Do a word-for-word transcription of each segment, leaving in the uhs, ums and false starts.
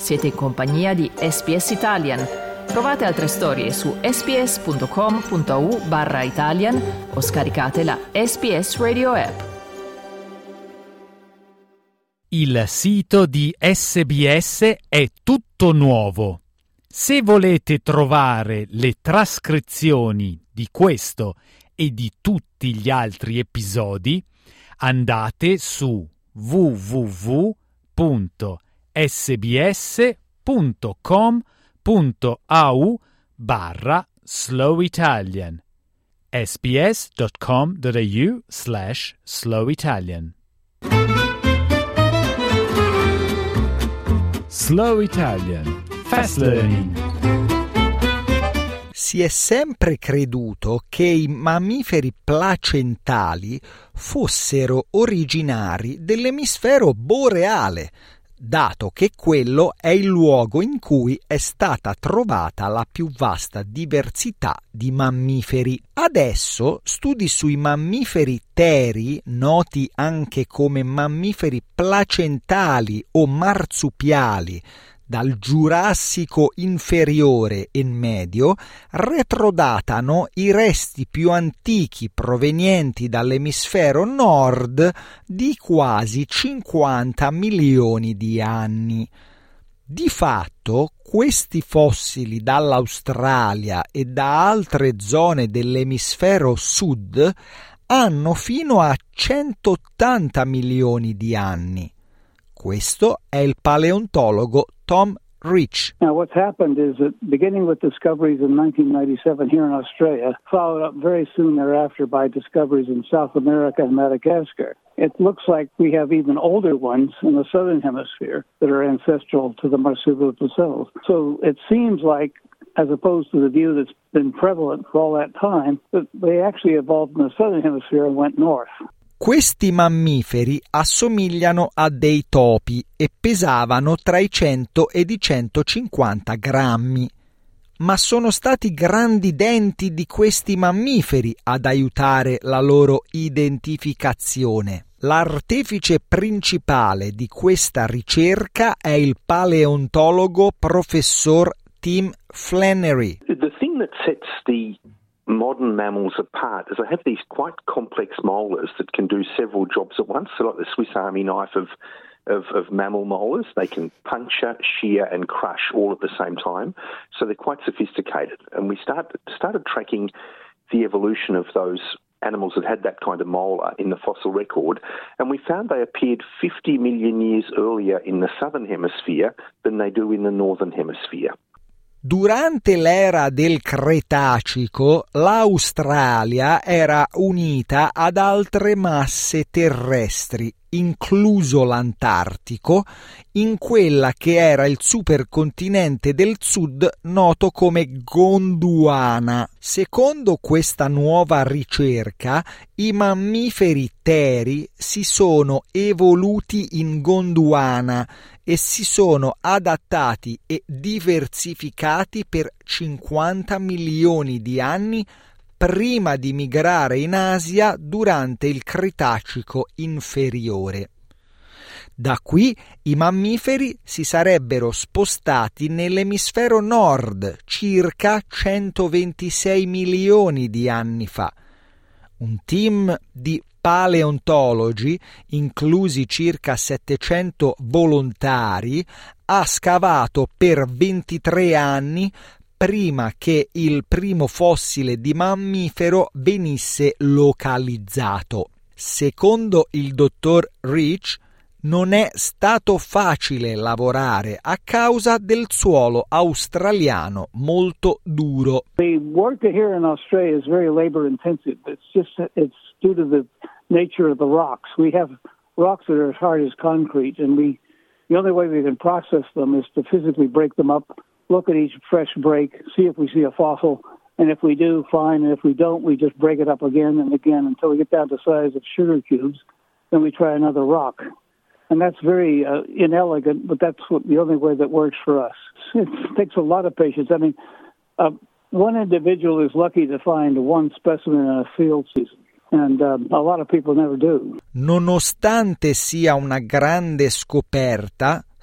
Siete in compagnia di S B S Italian. Trovate altre storie su sbs.com.au barra Italian o scaricate la S B S Radio app. Il sito di S B S è tutto nuovo. Se volete trovare le trascrizioni di questo e di tutti gli altri episodi, andate su w w w punto sbs.com.au barra Slow Italian. sbs.com.au slash Slow Italian. Slow Italian. Fast Learning. Si è sempre creduto che i mammiferi placentali fossero originari dell'emisfero boreale, dato che quello è il luogo in cui è stata trovata la più vasta diversità di mammiferi. Adesso studi sui mammiferi teri, noti anche come mammiferi placentali o marsupiali, dal Giurassico inferiore e medio, retrodatano i resti più antichi provenienti dall'emisfero nord di quasi cinquanta milioni di anni. Di fatto, questi fossili dall'Australia e da altre zone dell'emisfero sud hanno fino a centottanta milioni di anni. Questo è il paleontologo Tom Rich. Now, what's happened is that beginning with discoveries in nineteen ninety-seven here in Australia, followed up very soon thereafter by discoveries in South America and Madagascar, it looks like we have even older ones in the southern hemisphere that are ancestral to the marsupials themselves. So it seems like, as opposed to the view that's been prevalent for all that time, that they actually evolved in the southern hemisphere and went north. Questi mammiferi assomigliano a dei topi e pesavano tra i cento ed i centocinquanta grammi. Ma sono stati i grandi denti di questi mammiferi ad aiutare la loro identificazione. L'artefice principale di questa ricerca è il paleontologo professor Tim Flannery. The thing that sets the modern mammals apart is they have these quite complex molars that can do several jobs at once. So like the Swiss Army knife of, of, of mammal molars, they can puncture, shear and crush all at the same time. So they're quite sophisticated. And we start, started tracking the evolution of those animals that had that kind of molar in the fossil record, and we found they appeared fifty million years earlier in the southern hemisphere than they do in the northern hemisphere. Durante l'era del Cretacico, l'Australia era unita ad altre masse terrestri, incluso l'Antartico, in quella che era il supercontinente del sud noto come Gondwana. Secondo questa nuova ricerca, i mammiferi teri si sono evoluti in Gondwana e si sono adattati e diversificati per cinquanta milioni di anni prima di migrare in Asia durante il Cretacico inferiore. Da qui i mammiferi si sarebbero spostati nell'emisfero nord circa centoventisei milioni di anni fa. Un team di paleontologi, inclusi circa settecento volontari, ha scavato per ventitré anni prima che il primo fossile di mammifero venisse localizzato. Secondo il dottor Rich, non è stato facile lavorare a causa del suolo australiano molto duro. The work here in Australia is very labor intensive. It's just it's due to the nature of the rocks. We have rocks that are as hard as concrete, and we the only way we can process them is to physically break them up, look at each fresh break, see if we see a fossil, and if we do, fine, and if we don't, we just break it up again and again until we get down to the size of sugar cubes, then we try another rock. And that's very uh, inelegant, but that's what, the only way that works for us. It takes a lot of patience. I mean, uh, one individual is lucky to find one specimen in a field season. And um, a lot of people never do. Nonostante sia una grande scoperta,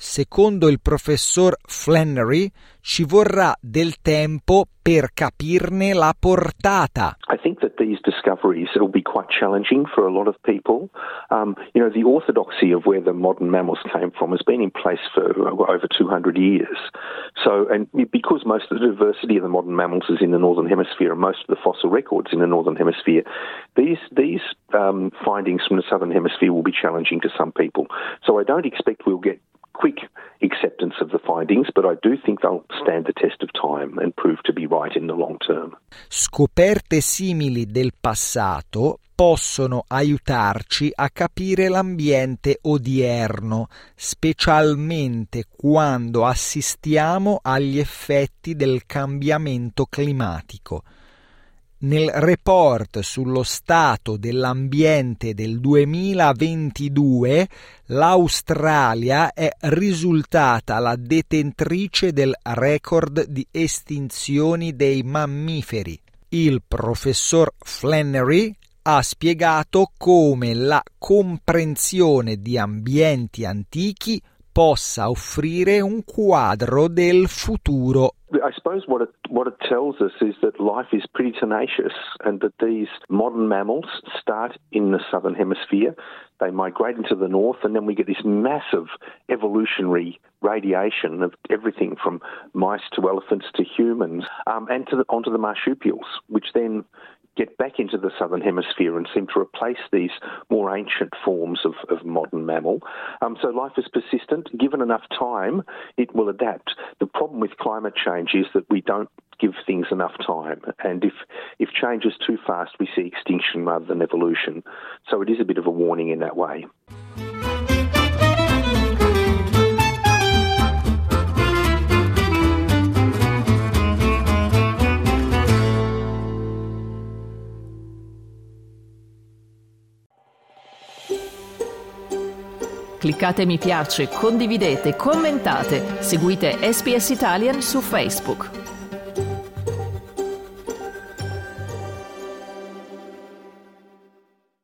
secondo il professor Flannery, ci vorrà del tempo per capirne la portata. I think that these discoveries will be quite challenging for a lot of people. Um, you know, the orthodoxy of where the modern mammals came from has been in place for over two hundred years. So, and because most of the diversity of the modern mammals is in the Northern Hemisphere and most of the fossil records in the Northern Hemisphere, these, these um, findings from the Southern Hemisphere will be challenging to some people. So I don't expect we'll get quick acceptance of the findings, but I do think they'll stand the test of time and prove to be right in the long term. Scoperte simili del passato possono aiutarci a capire l'ambiente odierno, specialmente quando assistiamo agli effetti del cambiamento climatico. Nel report sullo stato dell'ambiente del duemilaventidue, l'Australia è risultata la detentrice del record di estinzioni dei mammiferi. Il professor Flannery ha spiegato come la comprensione di ambienti antichi possa offrire un quadro del futuro. I suppose what it, what it tells us is that life is pretty tenacious and that these modern mammals start in the southern hemisphere, they migrate into the north, and then we get this massive evolutionary radiation of everything from mice to elephants to humans, um, and to the, onto the marsupials, which then get back into the southern hemisphere and seem to replace these more ancient forms of, of modern mammal. Um, so life is persistent. Given enough time, it will adapt. The problem with climate change is that we don't give things enough time. And if, if change is too fast, we see extinction rather than evolution. So it is a bit of a warning in that way. Cliccate mi piace, condividete, commentate, seguite S B S Italian su Facebook.